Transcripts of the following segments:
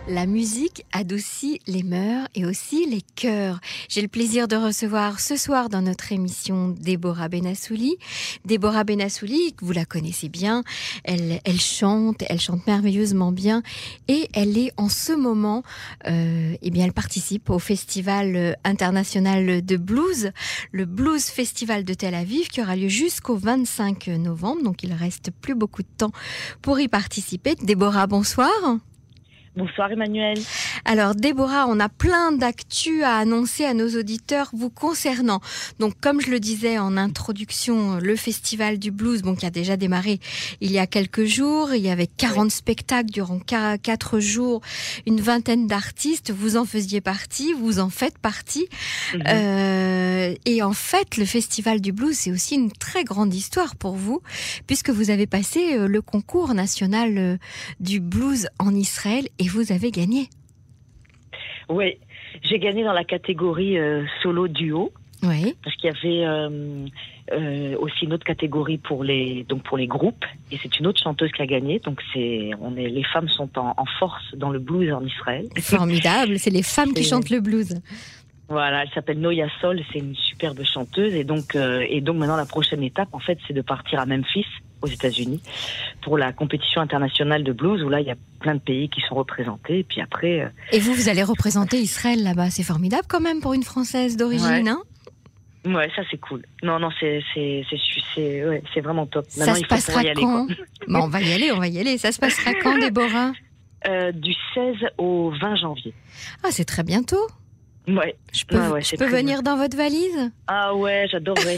La musique adoucit les mœurs et aussi les cœurs. J'ai le plaisir de recevoir ce soir dans notre émission Déborah Benassouli. Déborah Benassouli, vous la connaissez bien, elle chante merveilleusement bien et elle est en ce moment, elle participe au Festival international de blues, le Blues Festival de Tel Aviv qui aura lieu jusqu'au 25 novembre, donc il reste plus beaucoup de temps pour y participer. Déborah, bonsoir. Bonsoir Emmanuel. Alors Déborah, on a plein d'actu à annoncer à nos auditeurs vous concernant. Donc comme je le disais en introduction, le Festival du Blues, qui a déjà démarré il y a quelques jours, il y avait 40 spectacles durant 4 jours, une vingtaine d'artistes, vous en faisiez partie, vous en faites partie. Et en fait, le Festival du Blues, c'est aussi une très grande histoire pour vous, puisque vous avez passé le concours national du blues en Israël et vous avez gagné. Oui, j'ai gagné dans la catégorie solo duo. Oui. Parce qu'il y avait aussi une autre catégorie pour les groupes, et c'est une autre chanteuse qui a gagné. Donc les femmes sont en force dans le blues en Israël. Formidable, c'est les femmes qui chantent le blues. Voilà, elle s'appelle Noya Sol, c'est une superbe chanteuse, et donc maintenant la prochaine étape en fait c'est de partir à Memphis, aux États-Unis, pour la compétition internationale de blues où là il y a plein de pays qui sont représentés, et puis après. Et vous allez représenter Israël là-bas, c'est formidable quand même pour une Française d'origine, hein? Ouais, ça c'est cool. Non, c'est vraiment top. Maintenant, ça se passera quand? On va y aller. Ça se passera quand, Déborah? Du 16 au 20 janvier. Ah, c'est très bientôt. Ouais. Je peux venir dans votre valise? Ah ouais, j'adorerais.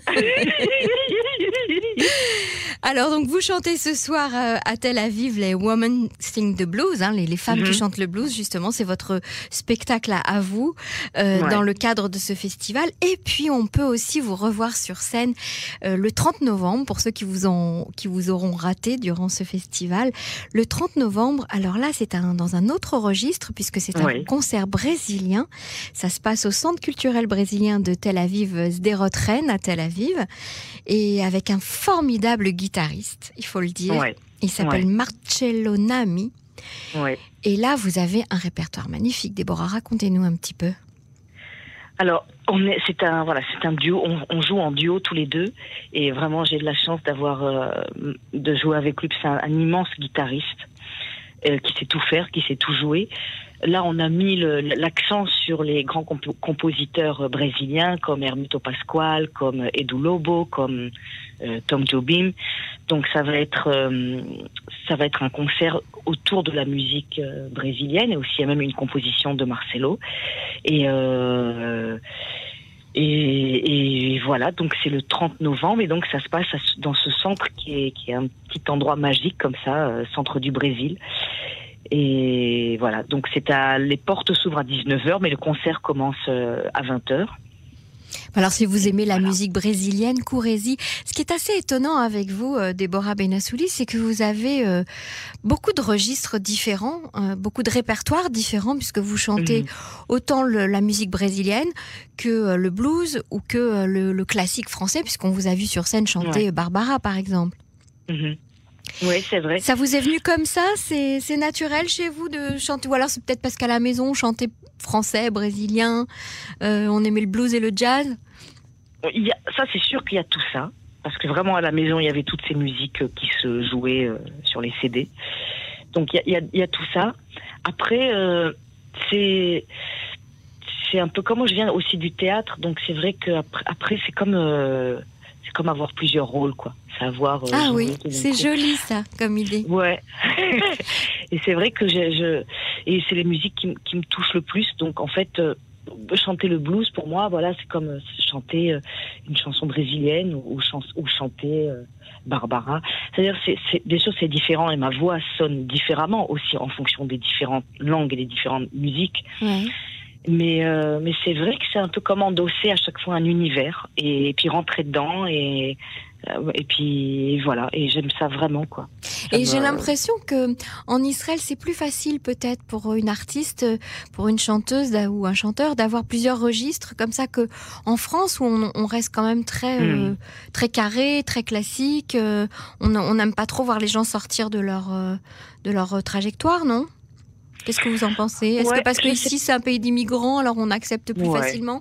Alors donc vous chantez ce soir à Tel Aviv les Women Sing the Blues, les femmes qui chantent le blues, justement, c'est votre spectacle à vous dans le cadre de ce festival. Et puis on peut aussi vous revoir sur scène le 30 novembre pour ceux qui vous auront raté durant ce festival. Le 30 novembre, alors là c'est dans un autre registre puisque c'est un concert brésilien. Ça se passe au Centre culturel brésilien de Tel Aviv, Sderot Ren à Tel Aviv, et avec un formidable guitariste, il faut le dire. Ouais. Il s'appelle Marcello Nami. Ouais. Et là, vous avez un répertoire magnifique. Déborah, racontez-nous un petit peu. Alors, c'est un duo. On joue en duo tous les deux, et vraiment, j'ai de la chance de jouer avec lui. C'est un immense guitariste qui sait tout faire, qui sait tout jouer. Là, on a mis l'accent sur les grands compositeurs brésiliens comme Hermeto Pascoal, comme Edu Lobo, comme Tom Jobim. Donc, ça va être un concert autour de la musique brésilienne, et aussi il y a même une composition de Marcelo. Et voilà, donc c'est le 30 novembre, et donc ça se passe dans ce centre qui est un petit endroit magique comme ça, centre du Brésil. Et voilà, donc les portes s'ouvrent à 19h, mais le concert commence à 20h. Alors si vous aimez la musique brésilienne, courez-y. Ce qui est assez étonnant avec vous, Déborah Benassouli, c'est que vous avez beaucoup de registres différents, beaucoup de répertoires différents, puisque vous chantez autant la musique brésilienne que le blues ou que le classique français, puisqu'on vous a vu sur scène chanter Barbara, par exemple. Oui, c'est vrai. Ça vous est venu comme ça? C'est naturel chez vous de chanter? Ou alors c'est peut-être parce qu'à la maison, on chantait français, brésilien, on aimait le blues et le jazz? Ça, c'est sûr qu'il y a tout ça. Parce que vraiment, à la maison, il y avait toutes ces musiques qui se jouaient sur les CD. Donc, il y a tout ça. Après, c'est un peu comme moi, je viens aussi du théâtre. Donc, c'est vrai qu'après, c'est comme avoir plusieurs rôles, quoi. Savoir. Ah oui, c'est joli ça, comme idée. Ouais. Et c'est vrai que et c'est les musiques qui me touchent le plus. Donc en fait, chanter le blues pour moi, voilà, c'est comme chanter une chanson brésilienne ou chanter Barbara. C'est-à-dire, bien sûr, c'est différent, et ma voix sonne différemment aussi en fonction des différentes langues et des différentes musiques. Ouais. Mais c'est vrai que c'est un peu comme endosser à chaque fois un univers, et puis rentrer dedans, et puis voilà, et j'aime ça vraiment, quoi. J'ai l'impression que en Israël c'est plus facile peut-être pour une artiste, pour une chanteuse ou un chanteur d'avoir plusieurs registres comme ça, que en France où on reste quand même très carré, très classique. On n'aime pas trop voir les gens sortir de leur trajectoire, non? Qu'est-ce que vous en pensez? Est-ce que parce que ici c'est un pays d'immigrants, alors on accepte plus facilement?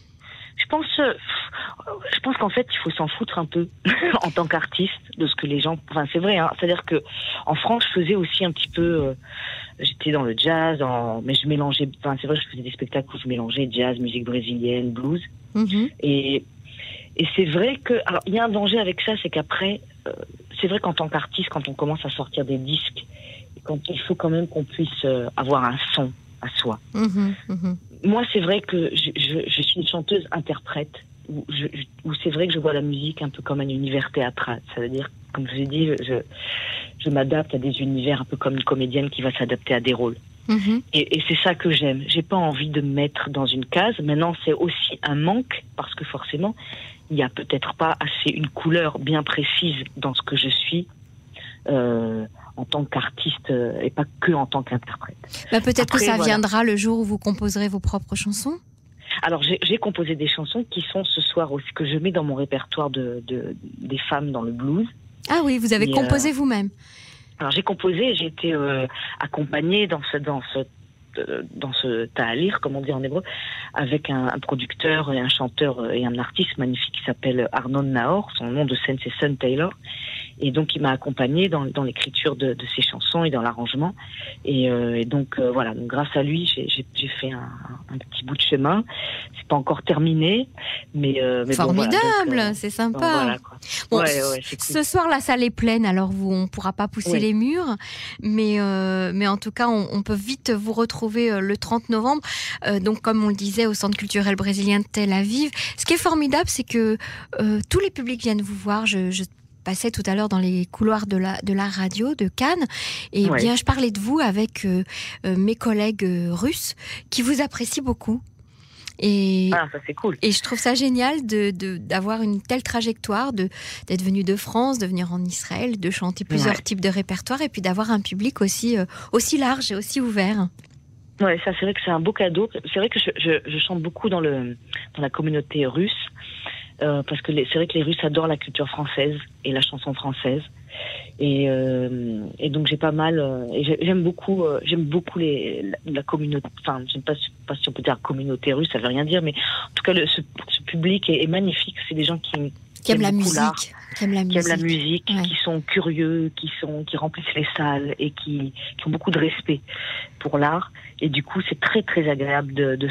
Je pense qu'en fait, il faut s'en foutre un peu en tant qu'artiste de ce que les gens. Enfin, c'est vrai. Hein, c'est-à-dire que en France, je faisais aussi un petit peu. J'étais dans le jazz, mais je mélangeais. Enfin, c'est vrai, je faisais des spectacles où je mélangeais jazz, musique brésilienne, blues. Et c'est vrai que. Alors, il y a un danger avec ça, c'est qu'après, c'est vrai qu'en tant qu'artiste, quand on commence à sortir des disques, quand il faut quand même qu'on puisse avoir un son à soi. Moi, c'est vrai que je suis une chanteuse-interprète, où c'est vrai que je vois la musique un peu comme un univers théâtral. Ça veut dire, comme je vous ai dit, je m'adapte à des univers un peu comme une comédienne qui va s'adapter à des rôles. Et c'est ça que j'aime. J'ai pas envie de me mettre dans une case. Maintenant, c'est aussi un manque, parce que forcément, il n'y a peut-être pas assez une couleur bien précise dans ce que je suis. En tant qu'artiste et pas que en tant qu'interprète. Peut-être que ça viendra le jour où vous composerez vos propres chansons. Alors j'ai composé des chansons qui sont ce soir aussi, que je mets dans mon répertoire des femmes dans le blues. Ah oui, vous avez composé vous-même. Alors j'ai composé, j'ai été accompagnée dans ce ta'alir, comme on dit en hébreu, avec un producteur et un chanteur et un artiste magnifique qui s'appelle Arnon Nahor. Son nom de scène c'est Sun Taylor. Et donc, il m'a accompagnée dans l'écriture de ses chansons et dans l'arrangement. Et donc, voilà. Donc, grâce à lui, j'ai fait un petit bout de chemin. C'est pas encore terminé, mais formidable, bon, voilà. C'est sympa. Voilà, c'est cool. Ce soir, la salle est pleine, alors on pourra pas pousser les murs, mais en tout cas, on peut vite vous retrouver le 30 novembre. Donc, comme on le disait, au Centre culturel brésilien de Tel Aviv. Ce qui est formidable, c'est que tous les publics viennent vous voir. Je passais tout à l'heure dans les couloirs de la radio de Cannes, et bien je parlais de vous avec mes collègues russes qui vous apprécient beaucoup. Et ça c'est cool. Et je trouve ça génial d'avoir une telle trajectoire, d'être venu de France, de venir en Israël, de chanter plusieurs types de répertoires, et puis d'avoir un public aussi large et aussi ouvert. Ouais, ça c'est vrai que c'est un beau cadeau. C'est vrai que je chante beaucoup dans la communauté russe. Parce que c'est vrai que les Russes adorent la culture française et la chanson française, et donc j'ai pas mal j'aime beaucoup la communauté. Enfin, je ne sais pas si on peut dire communauté russe, ça veut rien dire, mais en tout cas ce public est magnifique. C'est des gens qui aiment la musique, qui aiment la musique, qui sont curieux, qui remplissent les salles et qui ont beaucoup de respect pour l'art. Et du coup, c'est très très agréable de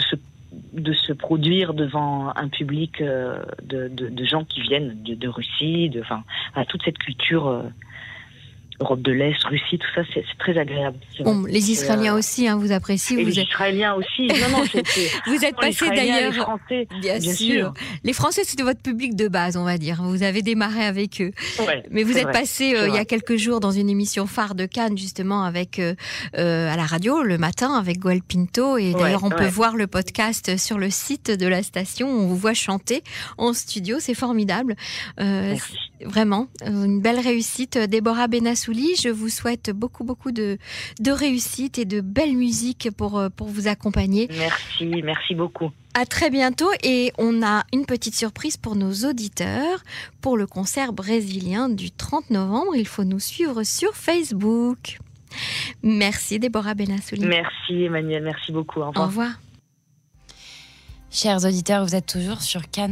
se produire devant un public de gens qui viennent de Russie, toute cette culture Europe de l'Est, Russie, tout ça, c'est très agréable. Bon, les Israéliens aussi, vous appréciez. Et les Israéliens aussi. Non, vous êtes passé d'ailleurs. Les Français, bien sûr. Les Français, c'était votre public de base, on va dire. Vous avez démarré avec eux. Mais vous êtes passé il y a quelques jours dans une émission phare de Cannes, justement, avec à la radio le matin avec Goël Pinto. Et d'ailleurs, on peut voir le podcast sur le site de la station. On vous voit chanter en studio, c'est formidable. Vraiment, une belle réussite. Déborah Benassouli, je vous souhaite beaucoup de réussite et de belle musique pour vous accompagner. Merci beaucoup. À très bientôt, et on a une petite surprise pour nos auditeurs pour le concert brésilien du 30 novembre. Il faut nous suivre sur Facebook. Merci Déborah Benassouli. Merci Emmanuel, merci beaucoup. Au revoir. Au revoir. Chers auditeurs, vous êtes toujours sur Cannes.